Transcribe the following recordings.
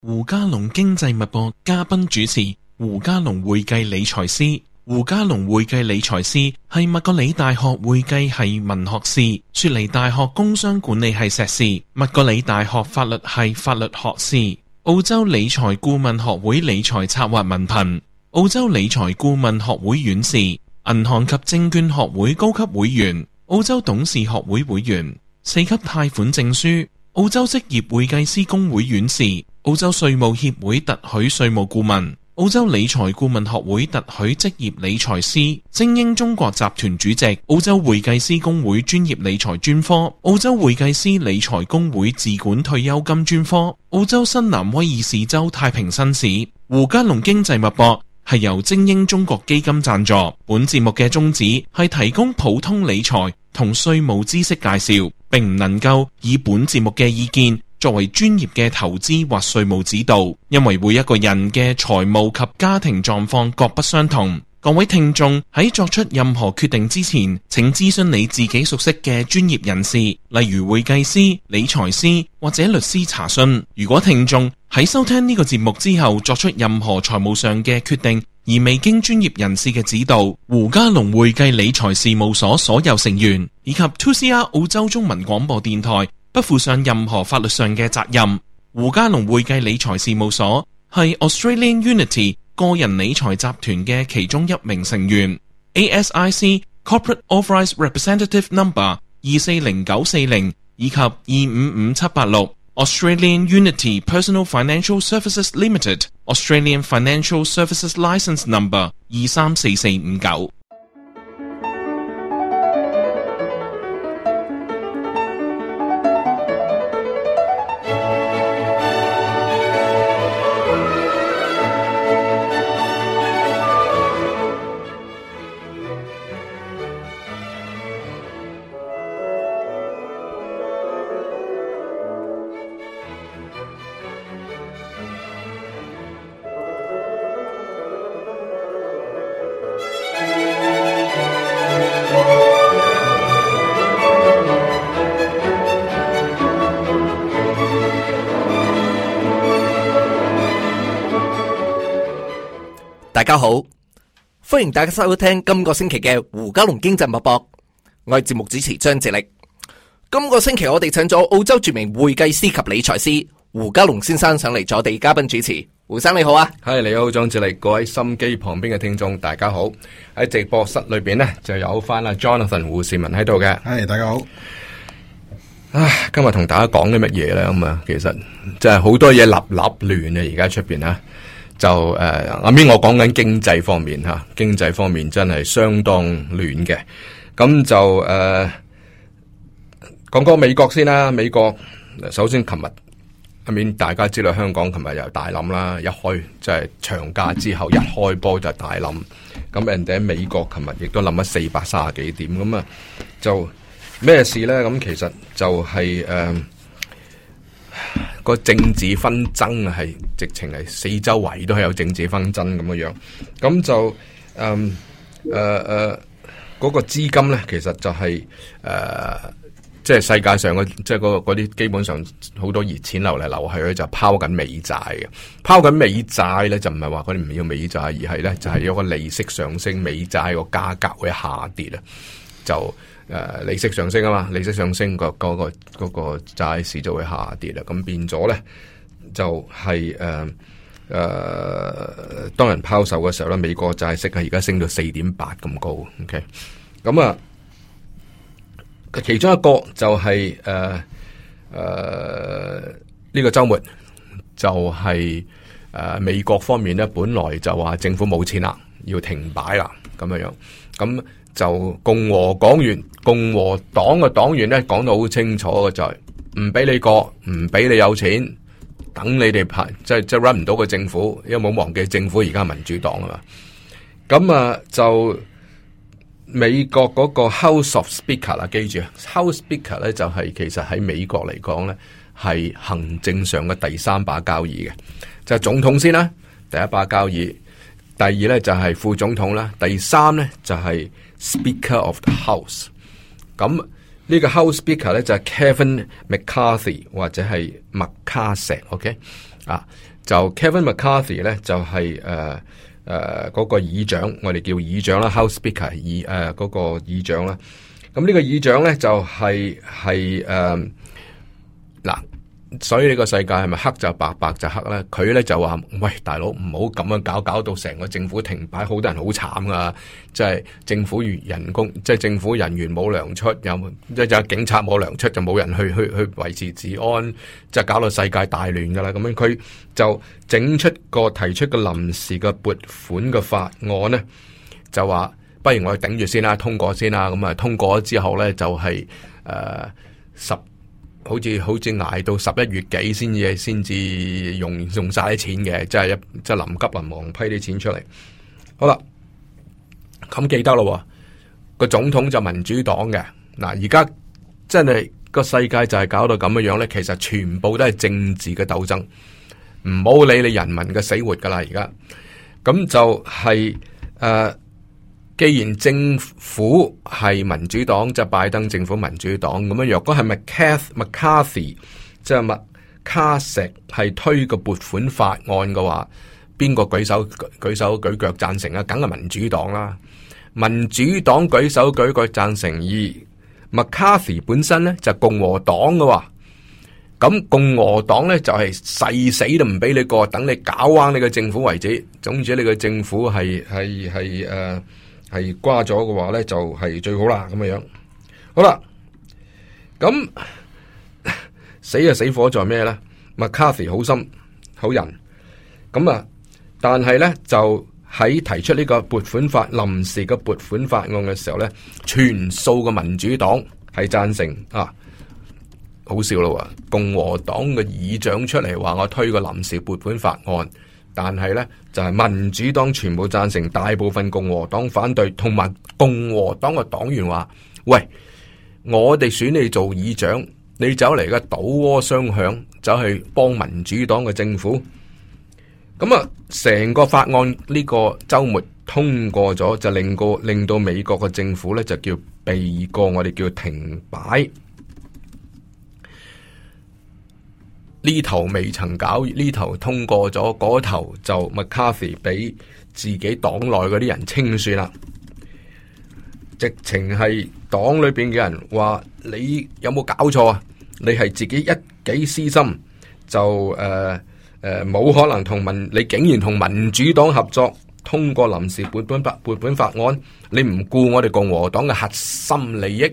胡嘉龍經濟脈搏嘉賓主持胡嘉龍會計理財師。胡嘉龍會計理財師係麥格里大學會計系文學士，雪梨大學工商管理系碩士，麥格里大學法律系法律學士，澳洲理財顧問學會理財策劃文憑，澳洲理財顧問學會院士，銀行及證券學會高級會員，澳洲董事學會會員，4級貸款證書，澳洲職業會計師公會院士，澳洲稅務協會特許稅務顧問，澳洲理財顧問學會特許職業理財師，精英中國集團主席，澳洲會計師公會專業理財專科，澳洲會計師理財公會自管退休金專科，澳洲新南威爾士州太平紳士。胡嘉龍經濟脈搏係由精英中國基金贊助，本節目嘅宗旨係提供普通理財同稅務知識介紹，並唔能夠以本節目嘅意見作為專業嘅投資或稅務指導，因為每一個人嘅財務及家庭狀況各不相同。各位聽眾喺作出任何決定之前，請諮詢你自己熟悉嘅專業人士，例如會計師、理財師或者律師查詢。如果聽眾喺收聽呢個節目之後作出任何財務上嘅決定，而未經專業人士嘅指導，胡嘉龍會計理財事務所所有成員以及 2CR 澳洲中文廣播電台不負上任何法律上嘅責任。胡嘉龍會計理財事務所係 Australian Unity 個人理財集團嘅其中一名成員， ASIC Corporate Authorised Representative Number 240940以及255786， Australian Unity Personal Financial Services Limited Australian Financial Services Licence Number 234459。 大家好，歡迎大家收聽今個星期嘅胡嘉龍經濟脈搏，我係節目主持張智力。今個星期我哋請咗澳洲著名會計師及理財師胡嘉龍先生上嚟做我哋嘉賓主持。胡生你好啊。 係，你好張智力，各位心機旁邊嘅聽眾大家好。喺直播室裏邊呢，就有翻阿 Jonathan 胡士文喺度嘅。 係，大家好。 今日同大家講啲乜嘢呢？咁啊，其實真係好多嘢立亂啊！而家出邊啊，就阿邊我講緊經濟方面吓，經濟方面真係相當亂嘅。咁就講講美國先啦。美國首先琴日阿邊大家知道香港琴日又大冧啦，一開即係長假之後一開波就大冧。咁人哋喺美國琴日亦都冧咗430幾點，咁啊就咩事咧？咁其實就係個政治紛爭係直情係四周圍都係有政治紛爭咁嘅樣，咁就嗰個資金咧，其實就係即係世界上嘅即係嗰啲基本上好多熱錢流嚟流去咧，就拋緊美債嘅。拋緊美債咧，就唔係話佢哋唔要美債，而係咧就係有個利息上升，美債個價格會下跌啊，就。利息上升啊嘛，利息上升嗰個債市就會下跌啦，咁變咗咧就係當人拋售嘅時候咧，美國債息係而家升到4.8咁高 ，OK， 咁啊，其中一個就係呢個週末就係美國方面咧，本來就話政府冇錢啦，要停擺啦，咁樣，咁。就共和黨嘅黨員咧講到好清楚嘅，就係唔俾你過，唔俾你有錢，等你哋排即係 run 唔到個政府，因為冇忘記政府而家係民主黨啊嘛。咁啊就美國嗰個 House of Speaker 啦，記住 House Speaker 咧就係其實喺美國嚟講咧係行政上嘅第三把交椅嘅，就係總統先啦，第一把交椅，第二咧就係副總統啦，第三咧就係Speaker of the House， 咁呢個 House Speaker 咧就係 Kevin McCarthy 或者係麥卡錫 ，OK 啊？ 就 Kevin McCarthy 咧就係嗰個議長，我哋叫議長啦 ，House Speaker 嗰個議長啦。咁呢個議長咧就係嗱。所以呢個世界係咪黑就白，白就黑咧？佢咧就話：喂，大佬唔好咁樣搞到成個政府停擺，好多人好慘噶。即係政府人工，即係政府人員冇糧出，即係警察冇糧出，就冇人去維持治安，即係搞到世界大亂噶啦。咁樣佢就提出個臨時嘅撥款嘅法案咧，就話不如我哋頂住先啦，通過先啦。咁啊通過咗之後咧，就係好似捱到11月幾先至用晒啲錢嘅，即係臨急臨忙批啲錢出嚟。好啦，咁記得咯，個總統就民主黨嘅。嗱，而家真係個世界就係搞到咁樣咧，其實全部都係政治嘅鬥爭，唔好理你人民嘅死活噶啦。而家咁就係既然政府係民主黨，即係拜登政府民主黨咁樣，若果係McCarthy 即係麥卡錫係推個撥款法案嘅話，邊個舉手舉腳贊成啊？梗係民主黨啦。民主黨舉手舉腳贊成，而 McCarthy 本身咧就係共和黨嘅話，咁共和黨咧就係誓死都唔俾你過，等你搞彎你嘅政府為止。總之你嘅政府係瓜咗嘅話咧，就係最好啦咁樣。好啦，咁死就死火在咩咧？McCarthy 好心好人，咁啊，但係咧就喺提出呢個臨時嘅撥款法案嘅時候咧，全數嘅民主黨係贊成啊。好笑咯，共和黨嘅議長出嚟話我推個臨時撥款法案。但係咧，就係民主黨全部贊成，大部分共和黨反對，同埋共和黨嘅黨員話：喂，我哋選你做議長，你走嚟嘅倒戈雙響，走去幫民主黨嘅政府。咁啊，成個法案呢個周末通過咗，就令到美國嘅政府咧就叫避過，我哋叫停擺。呢頭未曾搞，呢頭通過咗，嗰頭就 McCarthy 俾自己黨內嗰啲人清算啦。直情係黨裏邊嘅人話：你有冇搞錯啊？你係自己一己私心，就冇可能你竟然同民主黨合作通過臨時撥款法案，你唔顧我哋共和黨嘅核心利益，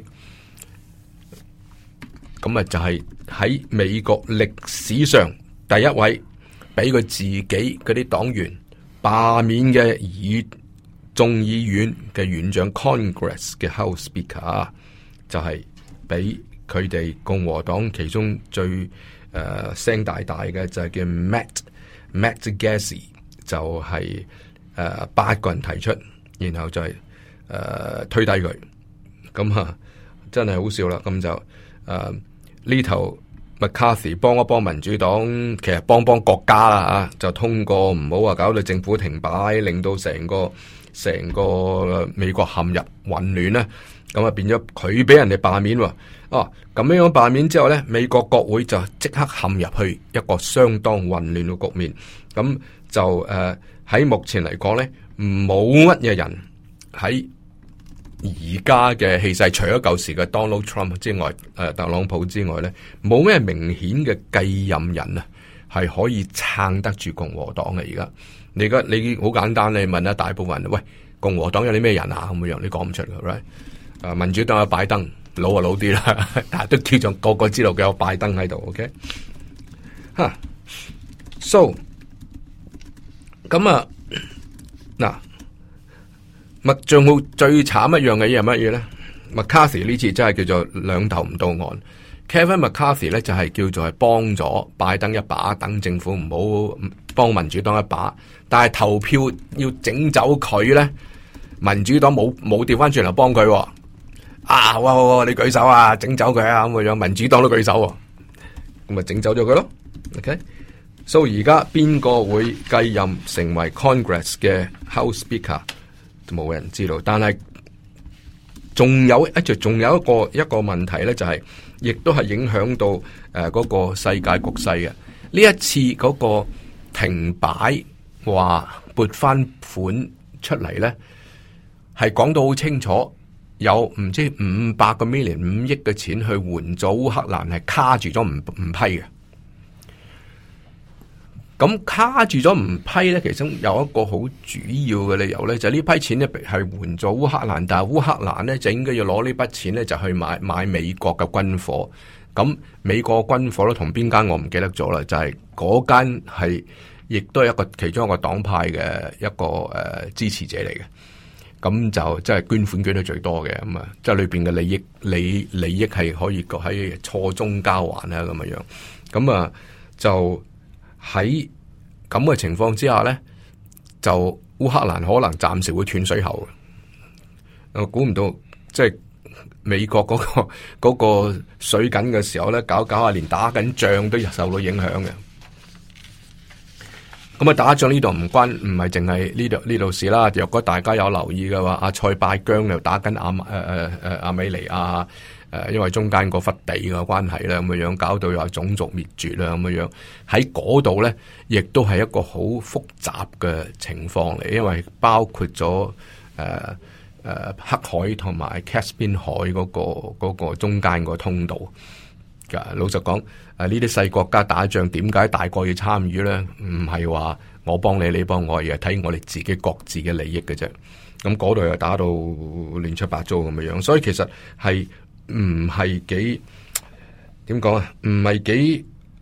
咁啊就係喺美國歷史上第一位俾佢自己嗰啲黨員罷免嘅眾議院嘅院長 Congress 嘅 House Speaker， 就係俾佢哋共和黨其中最聲大嘅就係叫 Matt Gaetz， 就係8個人提出，然後就係推低佢，咁啊真係好笑啦。咁就呢頭 McCarthy 幫一幫民主黨，其實幫國家啦，就通過，唔好話搞到政府停擺，令到成個美國陷入混亂咧。咁啊變咗佢俾人哋罷免喎。咁樣罷免之後咧，美國國會就即刻陷入去一個相當混亂嘅局面。咁就喺目前嚟講咧，冇乜嘢人喺而家嘅氣勢，除咗舊時嘅 Donald Trump 之外，特朗普之外咧，冇咩明顯嘅繼任人啊，係可以撐得住共和黨嘅。而家你好簡單，你問下大部分人，喂，共和黨有啲咩人啊？咁樣你講唔出嘅，right？民主黨有拜登，老啊老啲啦，但係都叫做個個知道佢有拜登喺度。OK， so 咁啊嗱。仲好最慘一樣嘅嘢係乜嘢咧 ？McCarthy 呢次真係叫做兩頭唔到岸。Kevin McCarthy 咧就係叫做係幫咗拜登一把，等政府唔好幫民主黨一把。但係投票要整走佢咧，民主黨冇調翻轉頭幫佢。哇！你舉手啊，整走佢啊咁樣，民主黨都舉手，咁咪整走咗佢咯。OK， 所以而家邊個會繼任成為 Congress 嘅 House Speaker？冇人知道，但係仲有一個問題咧，就係亦都係影響到嗰個世界局勢嘅。呢一次嗰個停擺話撥翻款出嚟咧，係講到好清楚，有唔知500個 million 5億嘅錢去援助烏克蘭，係卡住咗唔批嘅。咁卡住咗唔批咧，其中有一個好主要嘅理由咧，就係呢批錢咧係援助烏克蘭，但係烏克蘭咧就應該要攞呢筆錢咧就去買美國嘅軍火。咁美國嘅軍火咧同邊間我唔記得咗啦，就係嗰間係亦都係其中一個黨派嘅一個支持者嚟嘅。咁就即係捐款捐得最多嘅，咁啊，即係裏邊嘅利益係可以喺錯綜交環啦，咁樣樣。咁啊就。喺咁嘅情況之下呢，就烏克蘭可能暫時會斷水喉嘅。我估唔到，即係美國嗰個水緊嘅時候呢，搞下連打緊仗都受到影響嘅。咁啊，打仗呢度唔係淨係呢度事啦。若果大家有留意嘅話，阿塞拜疆又打緊亞美尼亞。因為中間嗰忽地嘅關係啦，咁樣搞到又係種族滅絕啦，咁樣喺嗰度咧，亦都係一個好複雜嘅情況嚟，因為包括咗黑海同埋 Caspian 海嗰個中間個通道。老實講，呢啲細國家打仗，點解大國要參與咧？唔係話我幫你，你幫我，而係睇我哋自己各自嘅利益嘅啫。咁嗰度又打到亂七八糟咁樣，所以其實係。唔係幾點講啊？唔係幾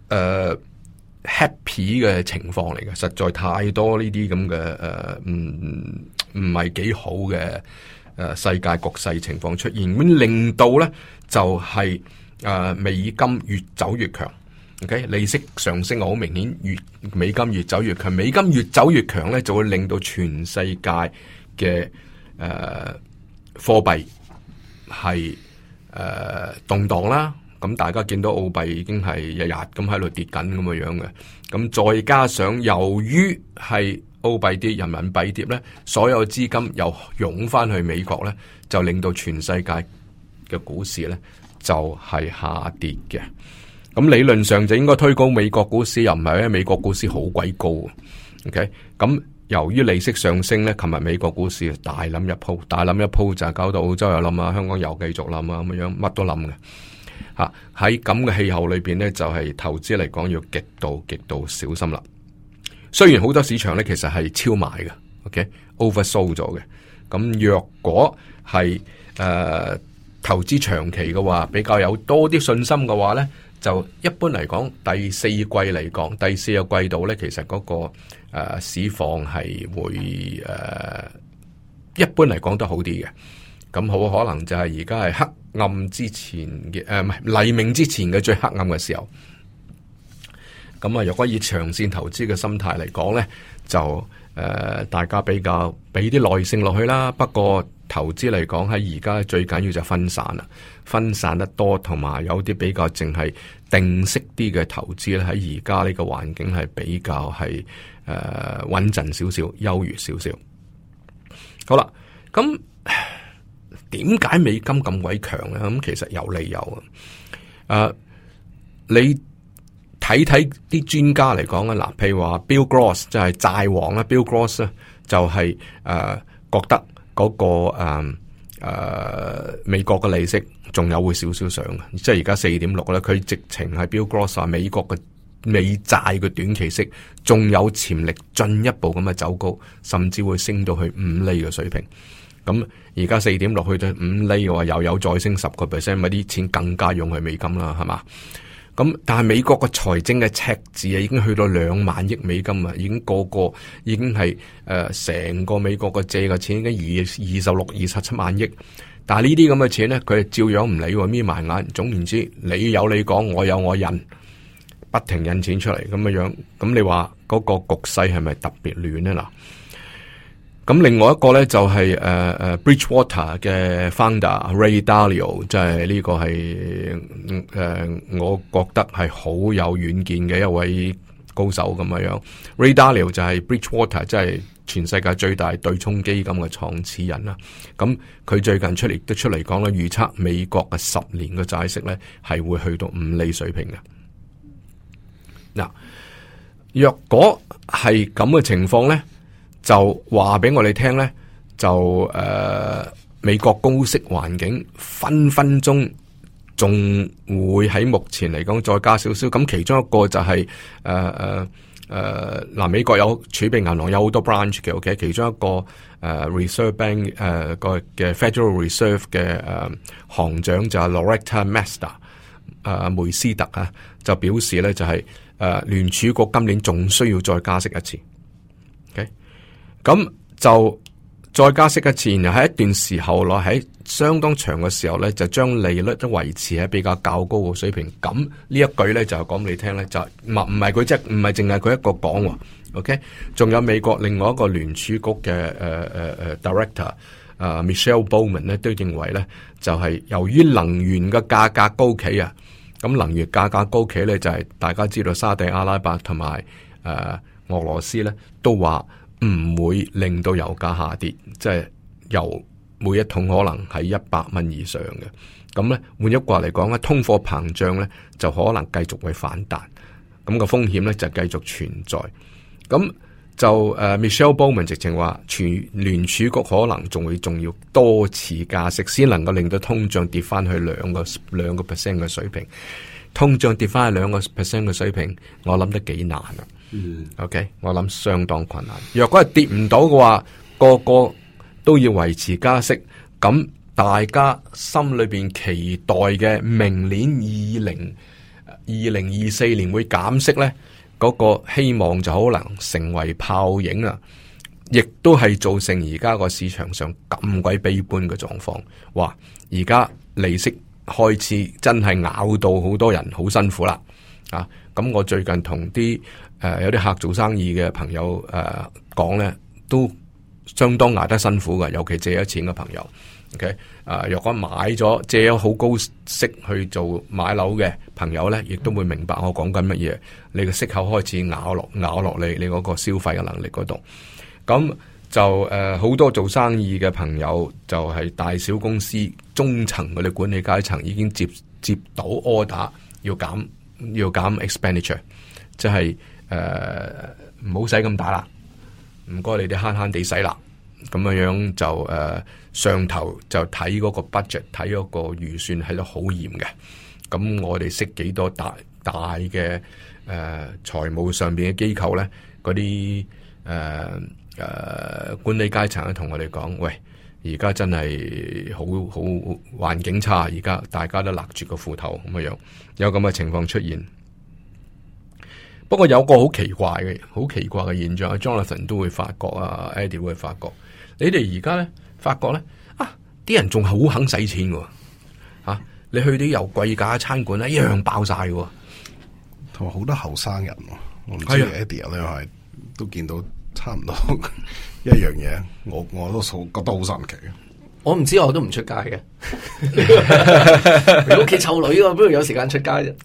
happy 嘅情況嚟嘅，實在太多呢啲咁嘅唔係幾好嘅世界局勢情況出現，咁令到咧就係美金越走越強。OK， 利息上升好明顯，美金越走越強，美金越走越強咧，就會令到全世界嘅貨幣係。動盪啦，咁大家見到澳幣已經係日日咁喺度跌緊咁嘅樣嘅，咁再加上由於係澳幣跌、人民幣跌咧，所有資金又湧翻去美國咧，就令到全世界嘅股市咧就係下跌嘅。咁理論上就應該推高美國股市，又唔係，因為美國股市好鬼高。OK， 咁。由於利息上升咧，琴日美國股市大冧一鋪就係搞到澳洲又冧啊，香港又繼續冧啊，咁樣乜都冧嘅嚇。喺咁嘅氣候裏邊咧，就係投資嚟講要極度小心啦。雖然好多市場咧其實係超賣嘅 ，OK，oversold 咗嘅。咁若果係投資長期嘅話，比較有多啲信心嘅話咧，就一般嚟講，第四季嚟講，第四個季度咧，其實嗰個市況係會一般嚟講都好啲嘅。咁好可能就係而家係黑暗之前嘅唔係黎明之前嘅最黑暗嘅時候。咁啊，若果以長線投資嘅心態嚟講咧，就大家比較俾啲耐性落去啦。不過投資嚟講喺而家最緊要就分散啦，分散得多同埋有啲比較淨係定息啲嘅投資咧，喺而家呢個環境係比較係穩陣少少，優越少少。好啦，咁點解美金咁鬼強咧？咁其實有理由啊。你睇啲專家嚟講啊，嗱，譬如話 Bill Gross 即係債王啦 ，Bill Gross 咧就係覺得嗰個美國嘅利息仲有會少少上嘅，即係而家4.6咧，佢直情係 Bill Gross 話美國嘅美債嘅短期息仲有潛力進一步咁嘅走高，甚至會升到去5厘嘅水平。咁而家4.6去到5厘嘅話，又有再升10%，咪啲錢更加用去美金啦，係嘛？咁但係美國個財政嘅赤字啊，已經去到2萬億美金啊，已經已經係成個美國個借嘅錢已經27萬億。但係呢啲咁嘅錢咧，佢係照樣唔理喎，眯埋眼。總言之，你有你講，我有我印，不停印錢出嚟咁嘅樣。咁你話嗰個局勢係咪特別亂咧？嗱，咁另外一個咧就係Bridgewater 嘅 founder Ray Dalio， 即係呢個係我覺得係好有遠見嘅一位高手咁樣。Ray Dalio 就係 Bridgewater， 即係全世界最大對沖基金嘅創始人啦。咁佢最近出嚟講咧，預測美國嘅10年嘅債息咧係會去到5厘水平嘅。嗱， 若果係咁嘅情況咧，就話俾我哋聽咧，就美國高息環境分分鐘仲會喺目前嚟講再加少少。咁其中一個就係美國有儲備銀行有好多 branch 嘅，OK， 其中一個Reserve Bank 個嘅 Federal Reserve 嘅行長就係 Loretta Mester 梅斯特啊，就表示咧就係聯儲局今年仲需要再加息一次，OK， 咁就再加息一次，然後喺一段時候內喺相當長嘅時候咧，就將利率都維持喺比較較高嘅水平。咁呢一句咧就講俾你聽咧，就唔係佢即係唔係淨係佢一個講，OK， 仲有美國另外一個聯儲局嘅Director Michelle Bowman 咧都認為咧，就係由於能源嘅價格高企啊，咁能源價格高企咧就係大家知道沙地阿拉伯同埋俄羅斯咧都話唔會令到油價下跌，即係油每一桶可能係$100以上嘅。咁咧換一句話嚟講咧，通貨膨脹咧就可能繼續會反彈，咁個風險咧就繼續存在。咁就Michelle Bowman 直情話，聯儲局可能仲要多次加息，先能夠令到通脹跌翻去2%嘅水平。通脹跌翻去2%嘅水平，我諗得幾難啊。OK， 我諗相當困難。若果係跌唔到嘅話，個個都要維持加息，咁大家心裏邊期待嘅明年2024年會減息呢，嗰個希望就可能成為泡影啊！亦都係造成而家個市場上咁鬼悲觀嘅狀況。哇！而家利息開始真係咬到好多人好辛苦啦啊！咁我最近同啲有啲客做生意嘅朋友講咧，都相當捱得辛苦嘅，尤其借咗錢嘅朋友。OK， 若果買咗借咗好高息去做買樓嘅朋友咧，亦都會明白我講緊乜嘢。你嘅息口開始咬落你嗰個消費嘅能力嗰度。咁就好多做生意嘅朋友，就係大小公司中層嗰啲管理階層已經接到 order 要減 expenditure， 即係唔好使咁大啦，唔該你哋慳慳地使啦。咁樣就上頭就睇嗰個 budget， 睇嗰個預算係得好嚴嘅。咁我哋識幾多大嘅財務上邊嘅機構咧，嗰啲管理階層咧同我哋講，喂，而家真係好環境差，而家大家都勒住個褲頭咁樣，有咁嘅情況出現。不過有個好奇怪嘅現象，Jonathan 都會發覺啊 ，Eddie 會發覺，你哋而家咧發覺咧啲人仲係好肯使錢嘅，你去啲又貴價嘅餐館咧，一樣爆晒嘅， 同埋好多後生人，我唔知 Eddie 咧係都見到差唔多一樣嘢，我都覺得好神奇。 我唔知，我都唔出街嘅。你屋企湊女啊，邊度有時間出街啫？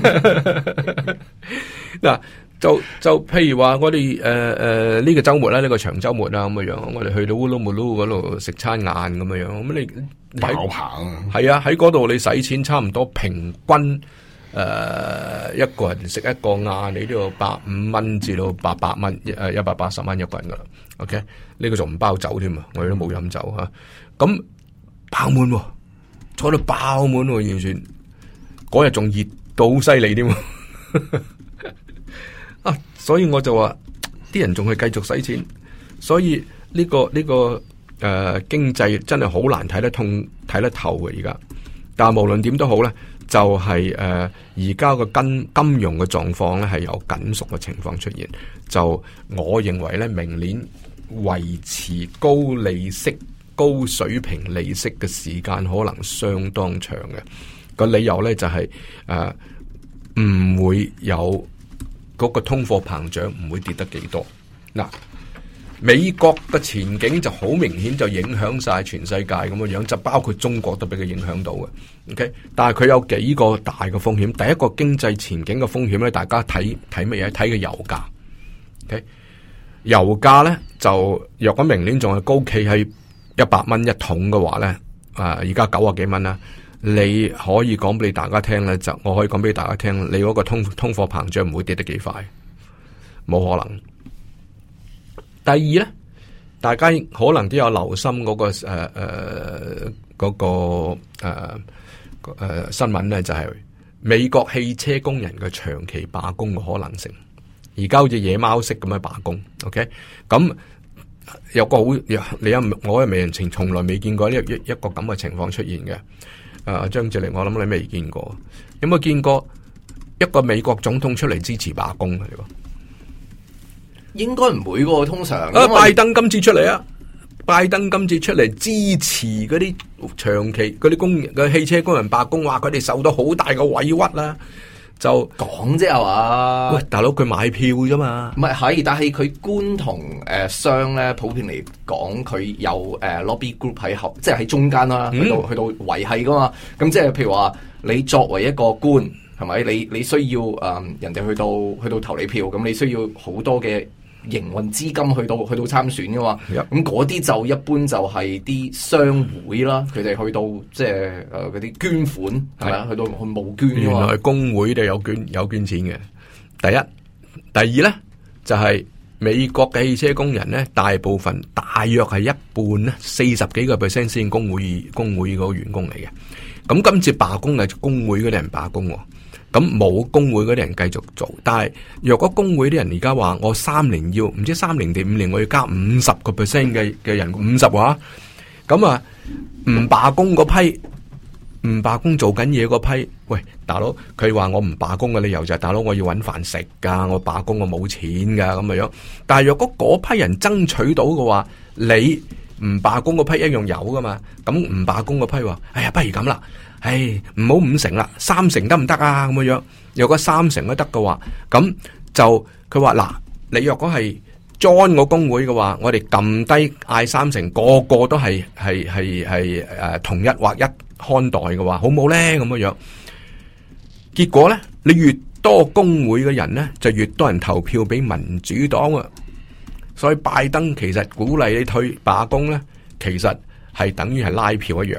嗱，就譬如話我哋呢個周末咧，呢個長周末啊咁嘅樣，我哋去到烏魯木魯嗰度食餐晏咁嘅樣，咁你爆棚啊！ 係啊，喺嗰度你使錢差唔多平均一個人食一個晏，你都要$150至到800蚊，180蚊一個人噶啦。OK， 呢個仲唔包酒添啊！我哋都冇飲酒吓，咁爆滿，坐到爆滿，完全嗰日仲熱到好犀利添。所以我就話啲人仲係繼續使錢，所以呢個經濟真係好難睇得通睇得透嘅而家。但係無論點都好咧，就係而家個金融嘅狀況咧係有緊縮嘅情況出現。就我認為咧，明年維持高利息、高水平利息嘅時間可能相當長嘅。個理由咧就係唔會有嗰個通貨膨脹唔會跌得幾多。嗱，美國嘅前景就好明顯就影響晒全世界咁嘅樣，就包括中國都俾佢影響到嘅。OK， 但係佢有幾個大嘅風險。第一個經濟前景嘅風險咧，大家睇乜嘢？睇嘅油價。OK， 油價咧就若果明年仲係高企喺100蚊一桶嘅話咧，而家90幾蚊啦。你可以講俾大家聽咧，我可以講俾大家聽，你嗰個通貨膨脹唔會跌得幾快， 冇可能。第二咧，大家可能都有留心嗰個新聞咧，就係美國汽車工人嘅長期罷工嘅可能性。而家好似野貓式咁樣罷工 ，OK？ 咁有個好，我係未人情，從來未見過一個咁嘅情況出現嘅。張智霖，我諗你未見過，有冇見過一個美國總統出嚟支持罷工啊？ 應該唔會噶，通常。 拜登今次出嚟啊！拜登今次出嚟支持嗰啲長期嗰啲汽車工人罷工，話佢哋受到好大嘅委屈啦。就講啫係嘛？ 喂，大佬佢買票啫嘛， 唔係，但係佢官同商咧，普遍嚟講，佢有lobby group 喺後，即係喺中間啦，去到維繫噶嘛。咁即係譬如話，你作為一個官，係咪？你需要人哋去到投你票，咁你需要好多嘅營運資金去到參選噶嘛。咁嗰啲就一般就係啲商會啦，佢哋去到即係嗰啲捐款係咪啊？去到去募捐噶嘛。 原來工會都有捐錢嘅。第一，第二咧就係美國嘅汽車工人咧，大部分大約係一半咧，40幾個%先工會嗰個員工嚟嘅。咁今次罷工係工會嗰啲人罷工。咁冇工會嗰啲人繼續做，但係若果工會啲人而家話我3年要唔知3年定5年我要加50% 嘅人50話，咁啊唔罷工嗰批，唔罷工做緊嘢嗰批，喂大佬，佢話我唔罷工嘅理由就係大佬我要搵飯食噶，我罷工我冇錢噶咁嘅樣。但係若果嗰批人爭取到嘅話，你唔罷工嗰批一樣有噶嘛？咁唔罷工嗰批話，哎呀不如咁啦。唔好5成啦，3成得唔得啊？咁樣，若果3成都得嘅話，咁就佢話嗱，你若果係 join 我工會嘅話，我哋撳低嗌3成，個個都係同一或一看待嘅話，好唔好咧？咁樣，結果咧，你越多工會嘅人咧，就越多人投票俾民主黨啊！所以拜登其實鼓勵你退罷工咧，其實係等於係拉票一樣。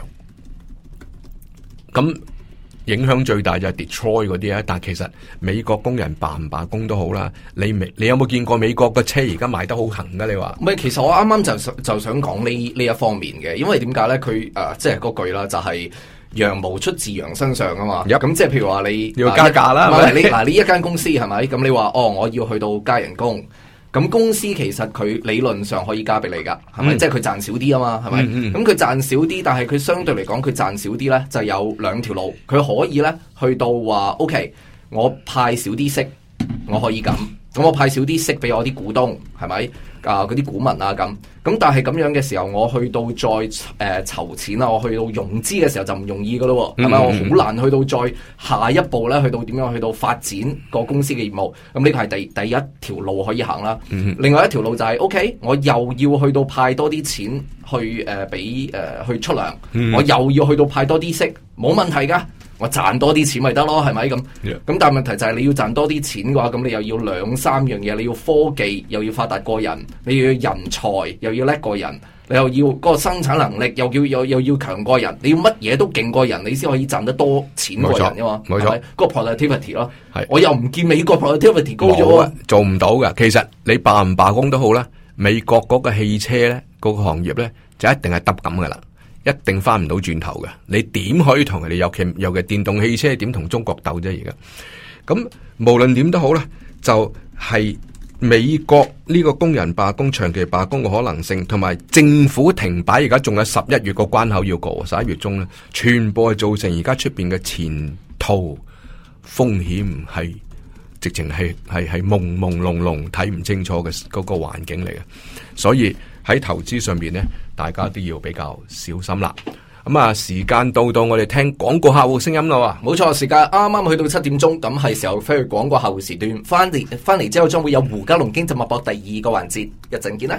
咁影響最大就係 Detroit 嗰啲啊，但其實美國工人罷唔罷工都好啦。你有冇見過美國嘅車而家賣得好行噶？你話唔係，其實我啱啱就想講呢一方面嘅，因為點解咧？佢即係嗰句啦，就係羊毛出自羊身上啊嘛。咁即係譬如話你要加價啦， 你一間公司係咪？咁你話我要去到加人工。咁公司其實佢理論上可以加俾你噶，係咪？即係佢賺少啲啊嘛，係咪？咁佢賺少啲，但係佢相對嚟講，佢賺少啲咧，就有2條路，佢可以咧去到話 OK，我派少啲息，我可以咁我派少啲息俾我啲股東，係咪？嗰啲股民啊咁但係咁樣嘅時候，我去到再籌錢啊，我去到融資嘅時候就唔容易噶咯，係咪？我好難去到再下一步咧，去到點樣去到發展個公司嘅業務。咁呢個係第一條路可以行啦。另外一條路就係 OK，我又要去到派多啲錢去俾去出糧，我又要去到派多啲息，冇問題噶。我賺多啲錢咪得咯，係咪咁？咁但係問題就係你要賺多啲錢嘅話，咁你又要2-3樣嘢，你要科技，又要發達過人，你要人才，又要叻過人，你又要嗰個生產能力，又要強過人，你要乜嘢都勁過人，你先可以賺得多錢過人噶嘛？冇錯，嗰個 productivity 咯。我又唔見美國 productivity 高咗啊， 做唔到噶。其實你罷唔罷工都好啦，美國嗰個汽車咧，嗰個行業咧就一定係耷咁噶啦。一定翻唔到轉頭嘅，你點可以同人哋尤其電動汽車點同中國鬥啫？而家咁無論點都好啦，就係美國呢個工人罷工、長期罷工嘅可能性，同埋政府停擺，而家仲有11月個關口要過，11月中咧，全部係造成而家出邊嘅前途風險係直情係朦朦朧朧睇唔清楚嘅嗰個環境嚟嘅，所以喺投資上面咧，大家都要比較小心啦。咁啊，時間到我哋聽廣告客戶聲音啦。 冇錯，時間啱啱去到7點鐘，咁係時候飛去廣告客戶時段。翻嚟之後，將會有胡嘉龍經濟脈搏第2個環節，一陣見啦。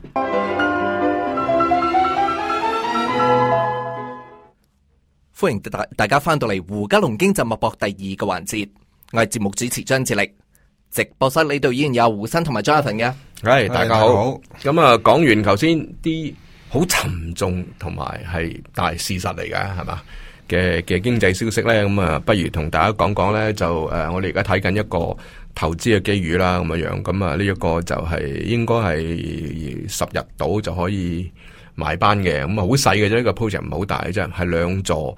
歡迎大家翻到嚟胡嘉龍經濟脈搏第2個環節，我係節目主持張智力。直播室呢度依然有胡生同埋 Jonathan 嘅。 係，大家好。咁啊，講完頭先啲好沉重同埋係大事實嚟嘅，係嘛？ 嘅經濟消息咧，咁啊，不如同大家講講咧，就我哋而家睇緊一個投資嘅機遇啦，咁樣，咁啊呢一個就係應該係10日到就可以埋班嘅，咁啊好細嘅啫，呢個 project 唔係好大嘅啫，係2座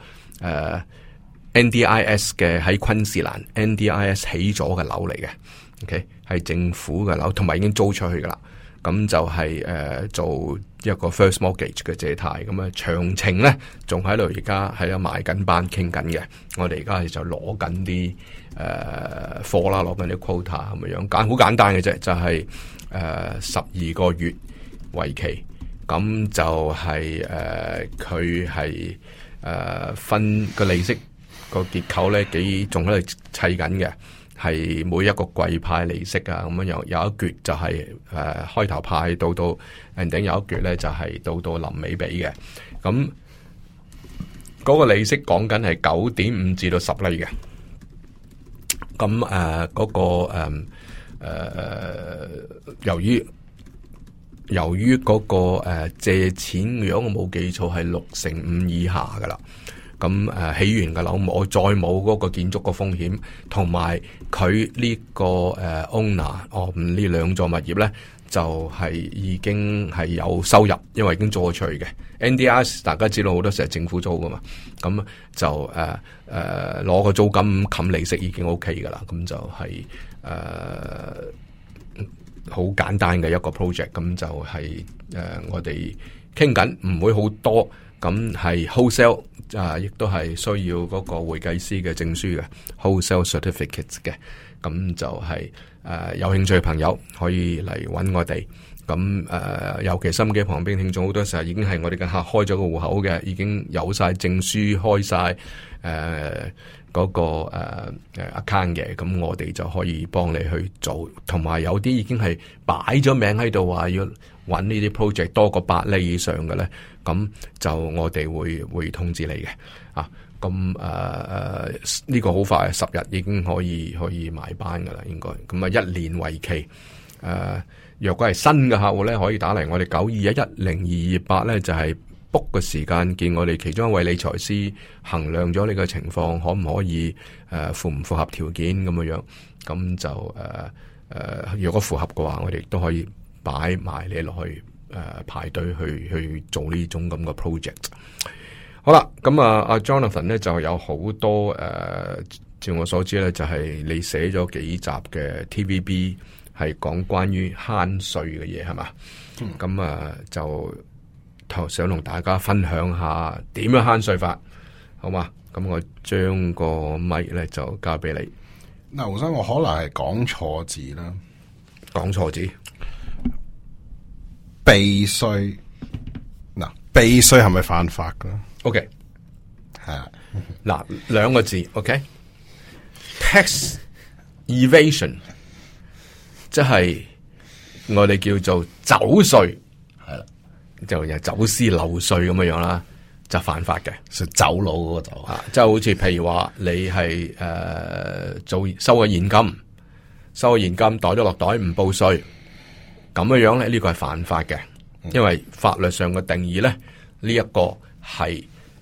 NDIS 嘅喺昆士蘭 NDIS 起咗嘅樓嚟嘅 ，OK 係政府嘅樓，同埋已經租出去噶啦。咁就係做一個 first mortgage 嘅借貸，咁啊詳情咧仲喺度，而家喺度埋緊班傾緊嘅。我哋而家就攞緊啲貨啦，攞緊啲 quota 咁樣，好簡單嘅啫，就係12個月為期，咁就係佢係分個利息個結構咧仲喺度砌緊嘅。係每一個季派利息啊，咁樣有一橛就係開頭派到 ending 有一橛咧就係到臨尾俾嘅。咁嗰個利息講緊係9.5至到10厘嘅。咁嗰個由於嗰個借錢，如果我冇記錯係65%以下噶啦。咁起完嘅樓我再冇嗰個建築個風險，同埋佢呢個owner 呢2座物業咧就係已經係有收入，因為已經租咗出去嘅。NDIS 大家知道好多時係政府租噶嘛，咁就攞個租金冚利息已經 OK 噶啦，咁就係好簡單嘅一個 project， 咁就係我哋傾緊，唔會好多。咁係 wholesale 亦都係需要嗰個會計師嘅證書嘅 wholesale certificates 嘅，咁就係有興趣嘅朋友可以嚟揾我哋。咁尤其心機旁邊聽眾好多時候已經係我哋嘅客開咗個戶口嘅，已經有晒證書開晒嗰個account 嘅，咁我哋就可以幫你去做。同埋有啲已經係擺咗名喺度話要揾呢啲 project 多過8厘以上嘅咧，咁就我哋會通知你嘅。咁呢個好快10日已經可以埋班噶啦，應該。咁1年為期。若果係新嘅客戶咧，可以打嚟我哋921102228咧，就係 book 個時間見我哋其中一位理財師衡量咗你嘅情況，可唔可以符唔符合條件咁樣。咁就如果符合嘅話，我哋都可以擺埋你落去排隊去做呢種咁嘅 project。好啦，咁阿 Jonathan 咧就有好多照我所知咧，就係你寫咗幾集嘅 TVB 係講關於慳稅嘅嘢係嘛？咁就想同大家分享下點樣慳稅法，好嘛？咁我將個咪咧就交俾你。 嗱，胡生，我可能係講錯字啦， 講錯字。 避稅，嗱，避稅係咪犯法噶 ？OK， 係啊， 嗱，2個字 ，OK，tax evasion， 即係我哋叫做走稅， 係啦， 就又走私漏稅咁樣啦，就犯法嘅， 走佬嗰個就即係好似譬如話你係收個現金，袋咗落袋唔報稅。咁樣咧，呢個係犯法嘅，因為法律上嘅定義咧，呢一個係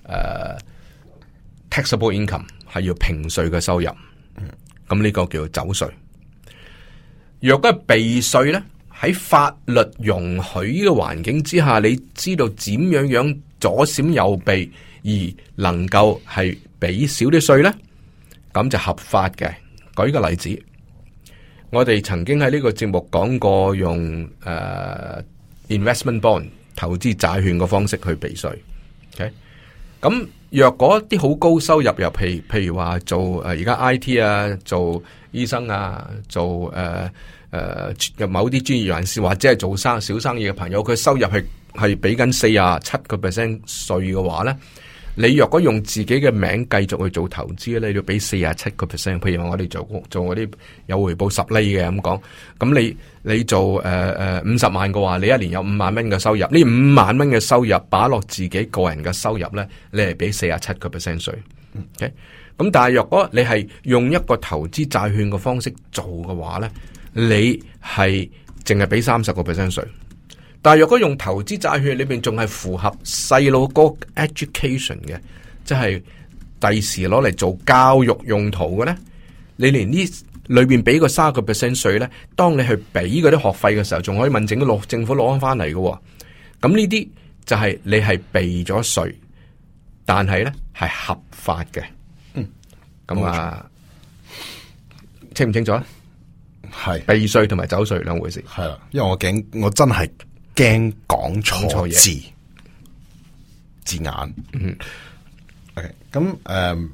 taxable income 係要評稅嘅收入，咁呢個叫做走稅。若果係避稅咧，喺法律容許嘅環境之下，你知道點樣左閃右避而能夠係俾少啲稅咧，咁就合法嘅。舉個例子。我哋曾經喺呢個節目講過用investment bond 投資債券嘅方式去避稅。OK， 咁若果啲好高收入又譬如話做而家 IT 啊，做醫生啊，做某啲專業人士或者係做小生意嘅朋友，佢收入係俾緊47% 稅嘅話咧。你若果用自己嘅名繼續去做投資咧，你要俾47%。譬如話我哋做嗰啲有回報10厘嘅咁講，咁你做50萬嘅話，你一年有5萬蚊嘅收入，呢5萬蚊嘅收入擺落自己個人嘅收入咧，你係俾47%稅。OK， 咁但係若果你係用一個投資債券嘅方式做嘅話咧，你係淨係俾30%稅。但係若果用投資債券裏邊仲係符合細路哥 education 嘅，即係第時攞嚟做教育用途嘅咧，你連呢裏邊俾個30% 稅咧，當你去俾嗰啲學費嘅時候，仲可以問政府攞翻嚟嘅。咁呢啲就係你係避咗稅，但係咧係合法嘅。咁啊，清唔清楚啊？ 係避稅同埋走稅兩回事。 係啦，因為我真係驚講錯字眼。OK， 咁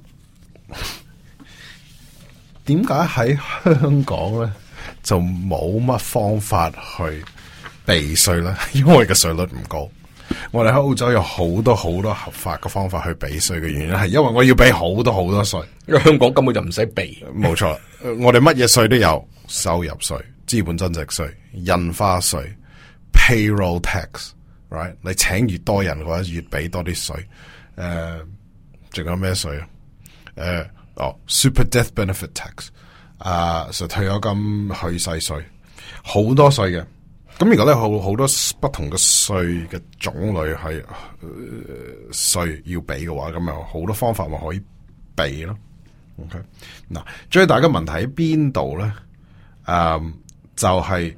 點解喺香港咧就冇乜方法去避稅咧？因為個稅率唔高。我哋喺澳洲有好多合法嘅方法去避稅嘅原因係因為我要俾好多稅， 因為香港根本就唔使避。 冇錯，我哋乜嘢稅都有，收入稅、資本增值稅、印花稅、payroll tax，right？ 你請越多人嘅話，越俾多啲稅。仲有咩稅啊？super death benefit tax，就退休金去世稅，好多稅嘅。咁如果咧好多不同嘅稅嘅種類係稅要俾嘅話，咁有好多方法咪可以避咯。OK， 嗱，最大嘅問題喺邊度咧？就係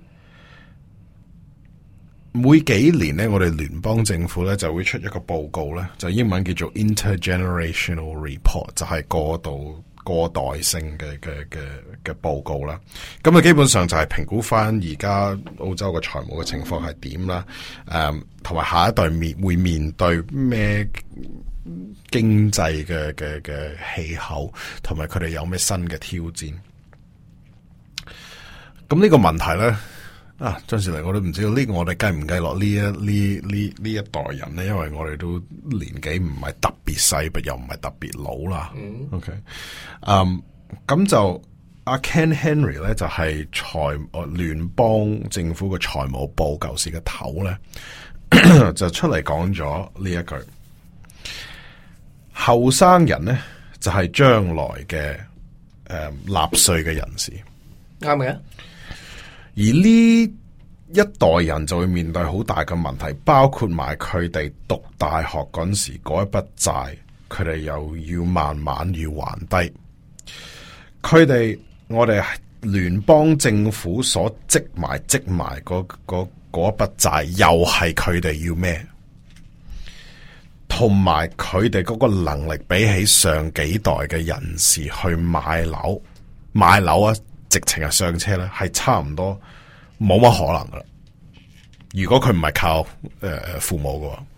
每幾年咧，我哋聯邦政府咧就會出一個報告咧，就英文叫做 Intergenerational Report， 就係過代性嘅報告啦。咁啊，基本上就係評估翻而家澳洲嘅財務嘅情況係點啦。同埋下一代會面對咩經濟嘅氣候，同埋佢哋有咩新嘅挑戰。咁呢個問題咧，張士麗我都唔知道呢個我哋計唔計落呢一代人咧，因為我哋都年紀唔係特別細，又唔係特別老啦。OK， 咁就阿 Ken Henry 咧就係聯邦政府嘅財務部舊時嘅頭咧，就出嚟講咗呢一句：後生人咧就係將來嘅納稅嘅人士， 啱嘅。 而呢一代人就會面對好大嘅問題，包括埋佢哋讀大學嗰陣時嗰一筆債，佢哋又要慢慢要還低。我哋聯邦政府所積埋嗰一筆債，又係佢哋要咩？同埋佢哋嗰個能力比起上幾代嘅人士去買樓啊，直情係上車咧，係差唔多冇乜可能噶啦。如果佢唔係靠父母嘅話，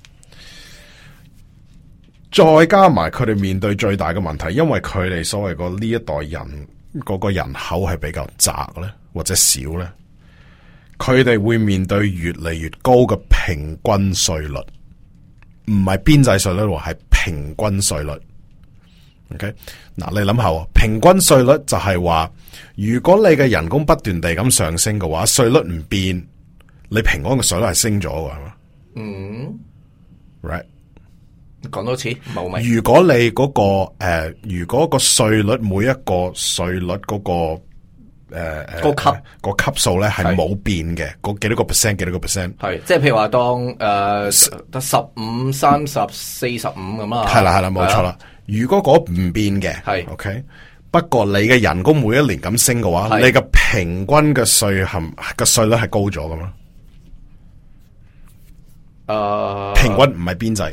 再加埋佢哋面對最大嘅問題，因為佢哋所謂個呢一代人嗰個人口係比較窄咧，或者少咧，佢哋會面對越嚟越高嘅平均稅率，唔係邊際稅率，係平均稅率。OK， 嗱，你諗下，平均稅率就係話，如果你嘅人工不斷地咁上升嘅話，稅率唔變，你平均嘅稅率係升咗嘅，係嘛？right， 講多次冇咪？ 如果你嗰如果個稅率每一個稅率嗰個級數咧係冇變嘅，嗰幾多個 percent， 幾多個 percent？ 係，即係譬如話當得15、30、45咁啦。係啦，冇錯啦。如果嗰唔變嘅，係 OK。不過你嘅人工每一年咁升嘅話，你嘅平均嘅稅率係高咗噶嘛？平均唔係邊際。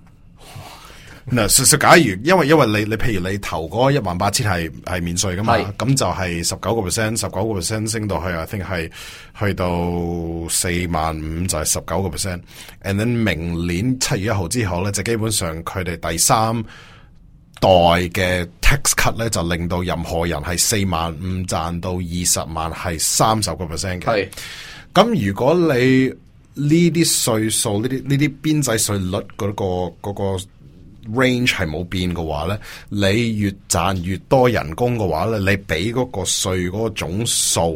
嗱，假如因為你譬如你投嗰18000係免稅噶嘛，咁就係19% 升到去，I think 係去到45000就係19%。And then 明年7月1號之後咧，就基本上佢哋第三代嘅 tax cut 咧，就令到任何人係45000賺到20萬係30% 嘅。係咁，如果你呢啲稅數呢啲邊際稅率嗰個 range 係冇變嘅話咧，你越賺越多人工嘅話咧，你俾嗰個稅嗰個總數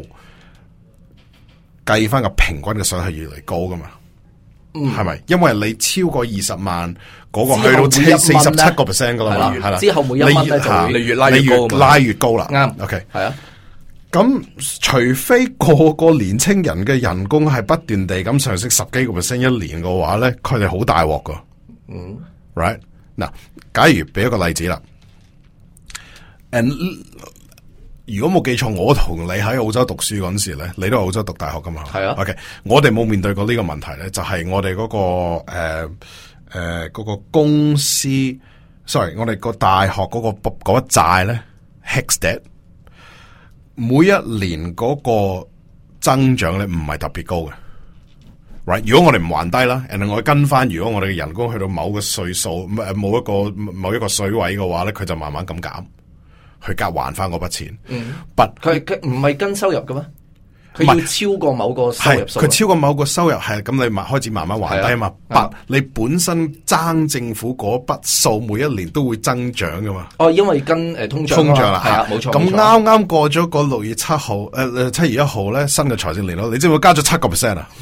計翻個平均嘅稅係越嚟越高噶嘛？係咪？因為你超過20萬嗰個去到47% 噶啦嘛，係啦。之後每1蚊咧就你越拉越高啦。啱 ，OK， 係啊。咁除非個年青人嘅人工係不斷地咁上升10幾個%一年嘅話咧，佢哋好大鑊噶。right 嗱，假如俾一個例子啦， 如果冇記錯，我同你喺澳洲讀書嗰陣時咧，你都係澳洲讀大學噶嘛？ 係啊。 OK， 我哋冇面對過呢個問題咧，就係我哋嗰個嗰個公司 ，sorry， 我哋個大學嗰嗰筆債咧 HECS debt， 每一年嗰個增長咧唔係特別高嘅。Right， 如果我哋唔還低啦，然後我跟翻，如果我哋嘅人工去到某個歲數，某一個水位嘅話咧，佢就慢慢咁減，去夾還翻嗰筆錢。 佢唔係跟收入嘅咩？佢要超過某個收入數。 佢超過某個收入係咁，你開始慢慢還低啊嘛。但你本身爭政府嗰筆數，每一年都會增長噶嘛。 哦，因為跟通脹啦， 係啊，冇錯。 咁啱啱過咗個6月7號，7月1號咧，新嘅財政年度，你知唔知加咗7%啊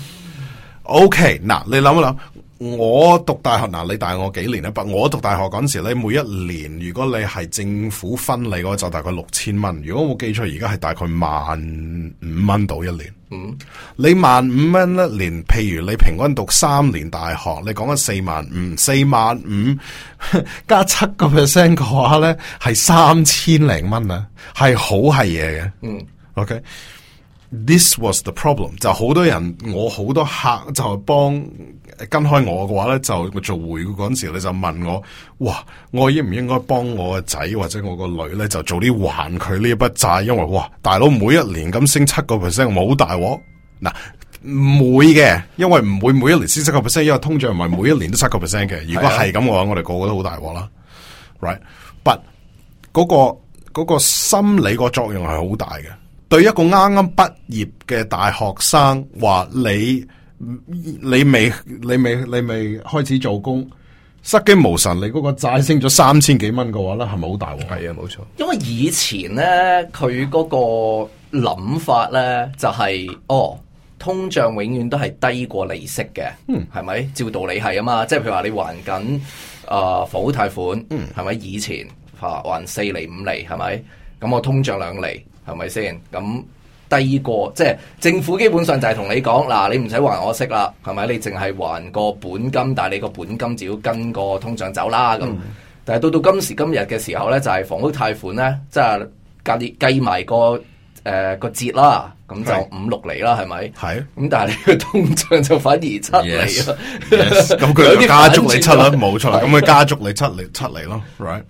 ？OK， 嗱，你諗一諗，我讀大學嗱，你大我幾年咧？我讀大學嗰陣時咧，每一年如果你係政府分你嗰個就大概6000蚊。如果我冇記錯，而家係大概15000蚊到一年。你15000蚊一年，譬如你平均讀3年大學，你講緊45000加7% 嘅話咧，係3000零蚊啊，係好係嘢嘅。OK。This was the problem， 就好多人，我好多客就幫跟開我嘅話咧，就做會嗰陣時，你就問我，哇，我應唔應該幫我個仔或者我個女咧，就早啲還佢呢一筆債？因為哇，大佬每一年咁升7%，冇大鑊。嗱，唔會嘅，因為唔會每一年升7%，因為通脹唔係每一年都7% 嘅。如果係咁嘅話，我哋個個都好大鑊啦。Right，but 嗰個心理個作用係好大嘅。對一個啱啱畢業嘅大學生話你未開始做工，失驚無神，你嗰個債升咗3000幾蚊嘅話咧，係咪好大鑊？ 係啊，冇錯。 因為以前咧，佢嗰個諗法咧就係、通脹永遠都係低過利息嘅，係咪？照道理係啊嘛，即係譬如話你還緊房屋貸款，係咪？以前還4厘5厘，係咪？咁我通脹2厘。係咪先？咁低過即係政府基本上就係同你講嗱，你唔使還我息啦，係咪？你淨係還個本金，但係你個本金就要跟個通脹走啦。咁，但係到今時今日嘅時候咧，就係房屋貸款咧，即係計埋個折啦，咁就5-6厘啦，係咪？係。咁但係你個通脹就反而7厘啦。 咁佢就加足你7啦，冇錯啦。咁佢加足你7厘咯 ，right？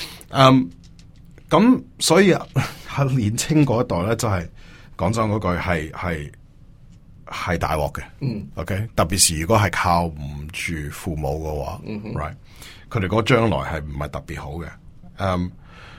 咁所以喺年青嗰一代咧，真係講真嗰句係大鑊嘅。OK， 特別是如果係靠唔住父母嘅話，right， 佢哋嗰個將來係唔係特別好嘅。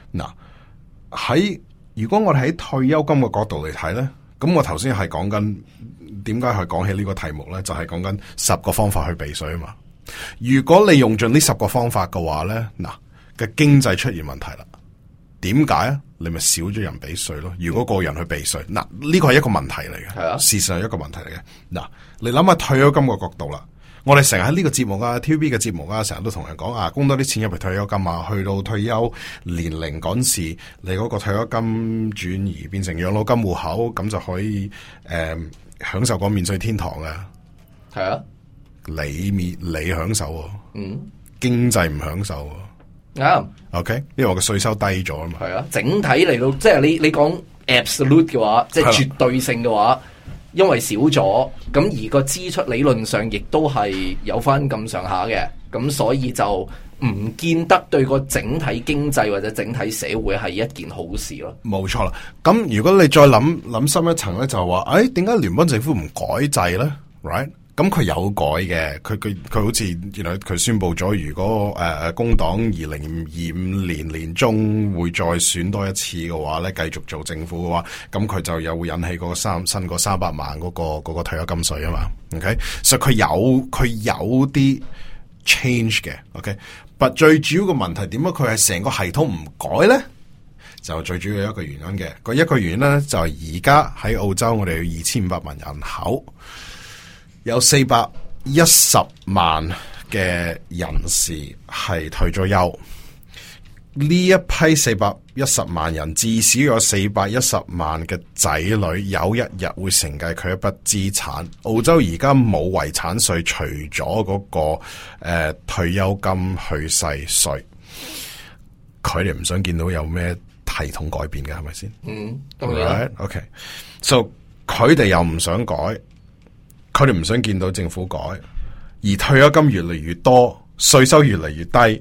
嗱，如果我哋喺退休金嘅角度嚟睇咧，咁我頭先係講緊點解去講起呢個題目咧，就係講緊10個方法去避稅啊嘛。如果你用盡呢10個方法嘅話咧，嗱嘅經濟出現問題啦。點解啊？你咪少咗人俾稅咯。如果個人去避稅，嗱呢個係一個問題嚟嘅，係啊，事實上係一個問題嚟嘅。嗱，你諗下退休金個角度啦，我哋成日喺呢個節目啊 ，TVB 嘅節目啊，成日都同人講啊，供多啲錢入去退休金啊，去到退休年齡嗰時，你嗰個退休金轉移變成養老金戶口，咁就可以享受個免稅天堂嘅。係啊，你享受，經濟唔享受。OK， 因為我個稅收低咗啊嘛。係啊，整體嚟到，即係你講 absolute 嘅話，即係絕對性嘅話，因為少咗，咁而個支出理論上亦都係有翻咁上下嘅，咁所以就唔見得對個整體經濟或者整體社會係一件好事咯。冇錯啦。咁如果你再諗深一層咧，就係話，點解聯邦政府唔改制咧 ？Right？咁佢有改嘅，佢好似佢宣布咗，如果工黨2025年年中會再選多一次嘅話咧，繼續做政府嘅話，咁佢就又會引起嗰個新個300萬嗰個退休金稅啊嘛。OK， 所以佢有啲 change 嘅。OK， 但最主要嘅問題點解佢係成個系統唔改咧？就最主要一個原因嘅，一個原因咧就係而家喺澳洲我哋有2500萬人口。有410萬嘅人士係退咗休，呢一批410萬人至少有410萬嘅仔女有一日會承繼佢一筆資產。澳洲而家冇遺產稅，除咗嗰個退休金去世稅，佢哋唔想見到有咩系統改變嘅，係咪先？ 當然。 OK，so 佢哋又唔想改，佢哋唔想見到政府改，而退休金越嚟越多，稅收越嚟越低，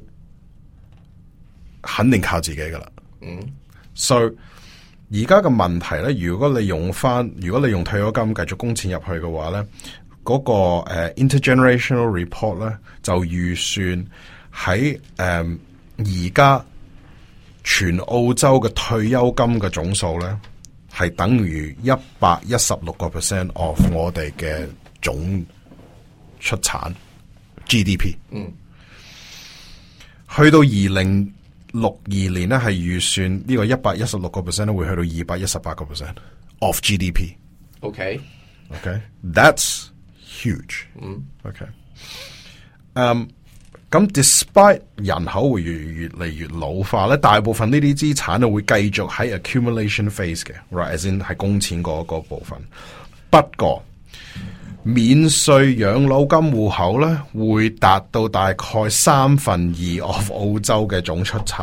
肯定靠自己噶啦。所以而家嘅問題咧，如果你用退休金繼續供錢入去嘅話咧，嗰個intergenerational report 咧就預算喺而家全澳洲嘅退休金嘅總數咧，係等於116% of 我哋嘅總出產 GDP。去到2062年咧，係預算呢個116% 咧會去到218% of GDP。OK，that's huge。OK，咁 despite 人口會越嚟越老化咧，大部分呢啲資產咧會繼續喺 accumulation phase 嘅 ，right，as in 係供錢嗰部分。不過免稅養老金戶口咧會達到大概2/3 of 澳洲嘅總出產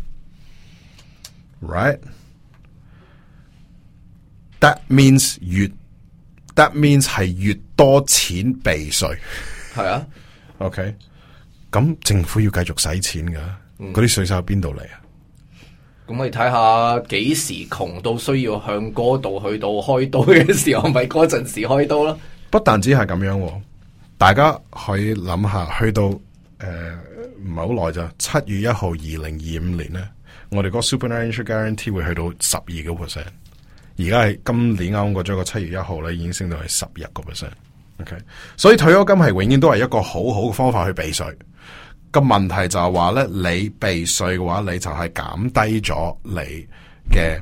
，right？That means 係越多錢避稅， 係啊 ，OK。咁政府要繼續使錢噶，嗰啲稅收喺邊度嚟啊？ 咁你睇下幾時窮到需要向嗰度去到開刀嘅時候，咪嗰陣時開刀咯。 不但止係咁樣，大家可以諗下，去到唔係好耐咋，7月1號2025年咧，我哋個 superannuation guarantee 會去到12%，而家係今年啱過咗個7月1號咧，已經升到係11%。OK， 所以退休金係永遠都係一個好好嘅方法去避稅。個問題就係話咧，你避稅嘅話，你就係減低咗你嘅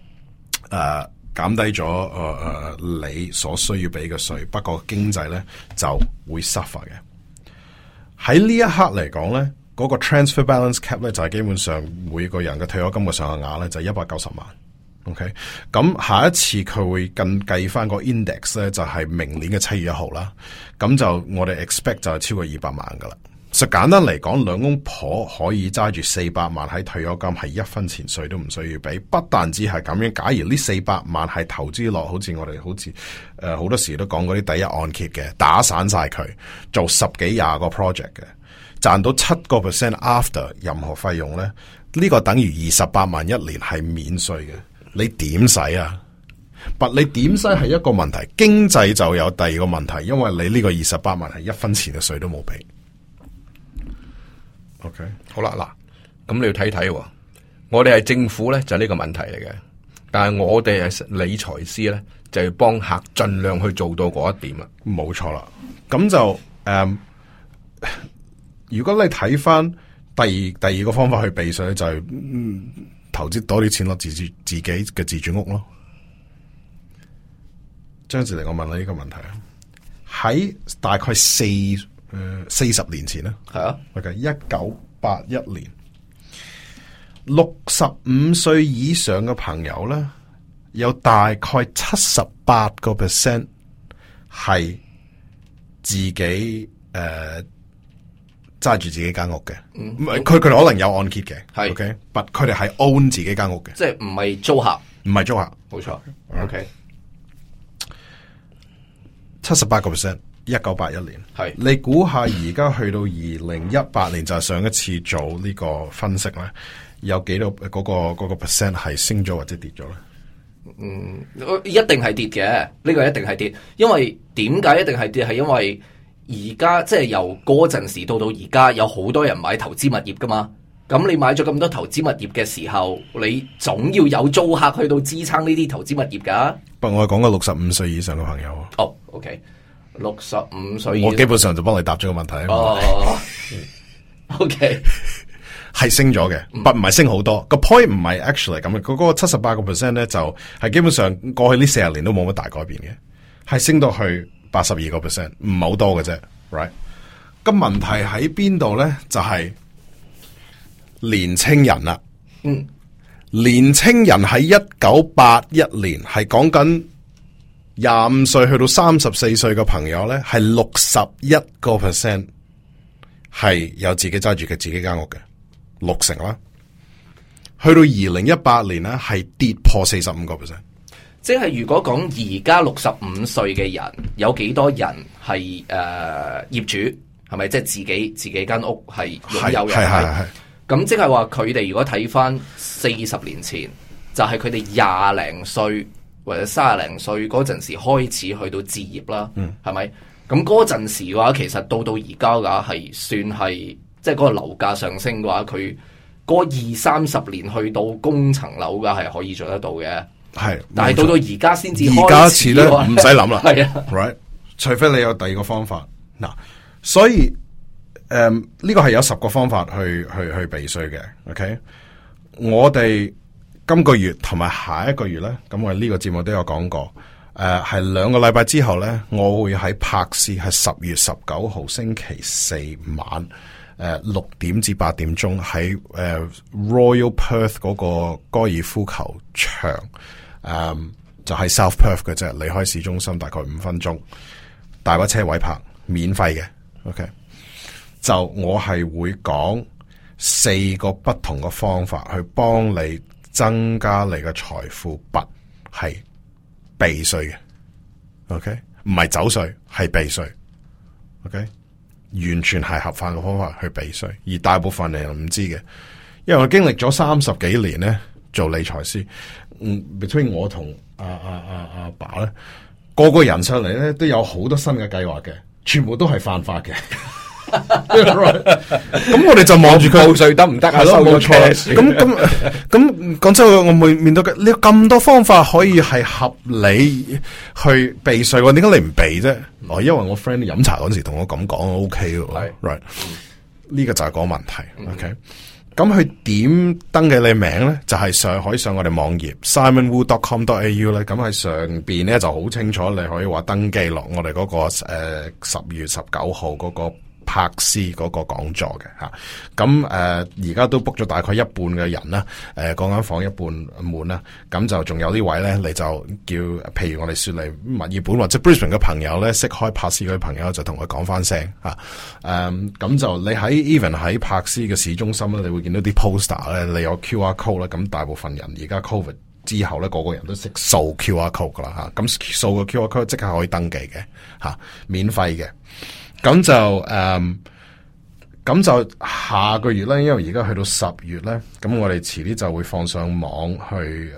你所需要俾嘅稅。不過經濟咧就會 suffer 嘅。喺呢一刻嚟講咧，嗰個 transfer balance cap 咧就係基本上每個人嘅退休金嘅上限額咧就係190萬。OK， 咁下一次佢會計翻個 index 咧，就係明年嘅7月1號啦。咁就我哋 expect 就係超過200萬噶啦。實簡單嚟講，兩公婆可以揸住400萬喺退休金，係1分錢稅都唔需要俾。不但只係咁樣，假如呢400萬係投資落，好似好多時都講嗰啲第一按揭嘅，打散晒佢做10幾20個 project 嘅，賺到7% after 任何費用咧，呢個等於28萬一年係免稅嘅。你點使啊？你點使係一個問題，經濟就有第二個問題，因為你呢個28萬係1分錢嘅稅都冇俾。OK， 好啦，嗱，咁你要睇睇，我哋係政府咧就呢個問題嚟嘅，但係我哋係理財師咧就要幫客盡量去做到嗰一點啦。 冇錯啦，咁就如果你睇翻第二個方法去避稅咧，就係投資多啲錢落自己嘅自住屋咯。張志玲，我問你呢個問題啊，喺大概40年前咧， 係啊 ，1981年，65歲以上嘅朋友咧，有大概78% 係自己揸住自己間屋嘅，佢哋可能有按揭嘅， 係 ，OK， 但佢哋係 own 自己間屋嘅， 即係唔係租客， 唔係租客， 冇錯 ，OK， 78%。1981年， 係你估下而家去到2018年就係上一次做呢個分析咧，有幾多嗰個 percent 係升咗或者跌咗咧？ 一定係跌嘅，呢個一定係跌，因為點解一定係跌？係因為而家即係由嗰陣時到而家，有好多人買投資物業噶嘛。咁你買咗咁多投資物業嘅時候，你總要有租客去到支撐呢啲投資物業噶。 不過我係講緊65歲以上嘅朋友。 哦，OK。65歲， 我基本上就幫你答咗個問題。 OK， 係升咗嘅，不唔係升好多。個 point 唔係 actually 咁嘅，嗰個78%咧就係基本上過去呢40年都冇乜大改變嘅，係升到去82%，唔係好多嘅啫。Right？咁問題喺邊度咧？就係年青人啦。年青人喺1981年係講緊。25歲去到34歲嘅朋友咧，係61% 係有自己揸住嘅自己間屋嘅，60%啦。 去到2018年咧係跌破45%。 即係如果講而家65歲嘅人，有幾多人係業主？係咪即係自己間屋係擁有嘅？ 係。 咁即係話佢哋如果睇翻40年前，就係佢哋20零歲或者30零歲嗰陣時開始去到置業啦。係咪？咁嗰陣時嘅話，其實到而家嘅話係算係即係嗰個樓價上升嘅話，佢嗰20-30年去到供層樓嘅係可以做得到嘅。係，但係到而家先至開始， 而家似咧唔使諗啦。 係啊 ，right， 除非你有第二個方法嗱，所以呢個係有10個方法去避稅嘅。OK， 我哋今個月同埋下一個月咧，咁我哋呢個節目都有講過。係2個禮拜之後咧，我會喺柏斯係10月19號星期四晚6點至8點鐘喺Royal Perth 嗰個高爾夫球場。就係 South Perth 嘅啫，離開市中心大概5分鐘，大把車位泊，免費嘅。OK， 就我係會講4個不同嘅方法去幫你增加你嘅財富，不係避稅嘅。OK， 唔係走稅，係避稅。OK， 完全係合法嘅方法去避稅，而大部分人唔知嘅，因為我經歷咗30幾年咧做理財師。between 我同阿爸咧，個人上嚟咧都有好多新嘅計劃嘅，全部都係犯法嘅。咁我哋就望住佢報稅得唔得啊？ 係咯，冇錯。咁講真，我會面對嘅，你有咁多方法可以係合理去避稅喎？點解你唔避啫？因為我 friend 飲茶嗰時同我咁講 ，OK 嘅，right？呢個就係個問題。OK。咁佢點登記你名咧？就係可以上我哋網頁 simonwu.com.au 咧。咁喺上邊咧就好清楚，你可以話登記落我哋嗰個10月19號嗰個柏斯嗰個講座嘅吓。咁而家都 book 咗大概一半嘅人啦。嗰間房一半滿啦。咁就仲有啲位咧，你就叫譬如我哋雪梨墨爾本或者 Brisbane 嘅朋友咧，識開柏斯嗰啲朋友就同佢講翻聲吓。咁就你喺 even 喺柏斯嘅市中心咧，你會見到啲 poster 咧，你有 QR code 咧。咁大部分人而家 COVID 之後咧，個個人都識掃 QR code 噶啦吓。咁掃個 QR code 即刻可以登記嘅吓，免費嘅。咁就下個月咧，因為而家去到10月咧，咁我哋遲啲就會放上網去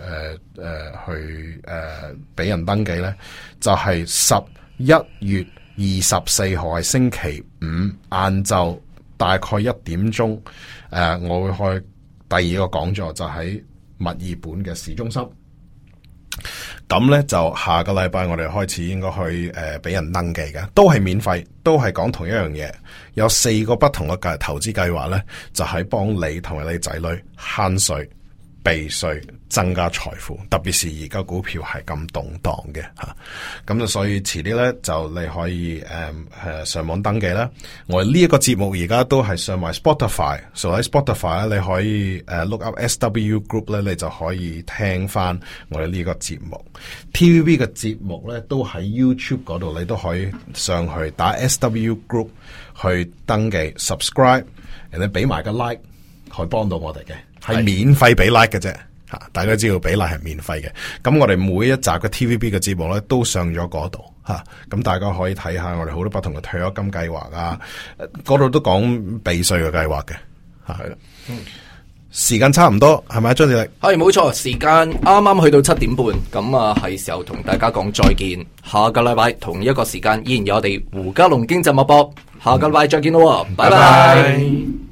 俾人登記咧，就係11月24號係星期五晏晝大概1點鐘，我會開第二個講座，就喺墨爾本嘅市中心。咁咧就下個禮拜我哋開始應該去俾人登記嘅，都係免費，都係講同一樣嘢。有4個不同嘅投資計劃咧，就係幫你同埋你仔女慳稅、避稅、增加財富。特別是而家股票係咁動盪嘅吓，咁就所以遲啲咧就你可以上網登記啦。我哋呢一個節目而家都係上埋 Spotify， 所以喺 Spotify 咧你可以look up SW Group 咧，你就可以聽翻我哋呢個節目。TVB 嘅節目咧都喺 YouTube 嗰度，你都可以上去打 SW Group 去登記 subscribe， 人哋俾埋個 like， 可以幫到我哋嘅，係免費俾 like 嘅啫。大家知道比例係免費嘅，咁我哋每一集嘅 TVB 嘅節目咧都上咗嗰度吓，咁大家可以睇下我哋好多不同嘅退休金計劃啊，嗰度都講避稅嘅計劃嘅吓，係啦。時間差唔多係咪張志力？ 係冇錯，時間啱啱去到7點半，咁啊係時候同大家講再見。下個禮拜同一個時間依然有我哋胡嘉龍經濟脈搏，下個禮拜再見咯，拜拜。